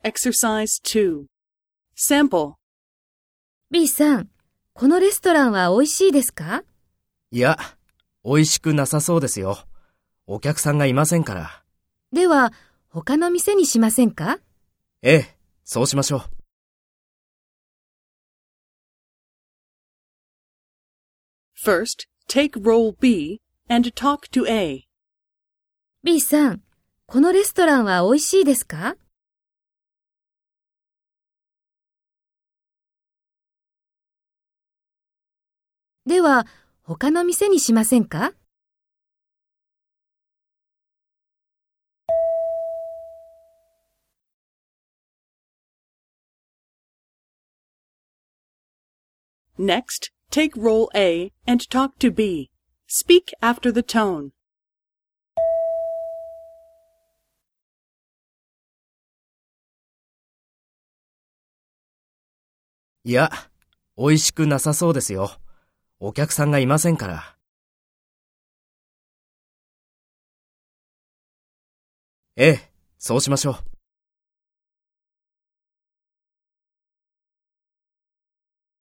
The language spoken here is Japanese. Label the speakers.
Speaker 1: Exercise 2. Sample.
Speaker 2: B さん、このレストランは美味しいですか？
Speaker 3: いや、美味しくなさそうですよ。お客さんがいませんから。
Speaker 2: では、他の店にしませんか？
Speaker 3: ええ、そうしましょう。
Speaker 1: First, take role B and talk to A.
Speaker 2: B さん、このレストランは美味しいですか？では、他の店にしませんか？
Speaker 1: Next, take role A and talk to B. Speak after the tone.
Speaker 3: いや、美味しくなさそうですよ。お客さんがいませんから。ええ、そうしましょう。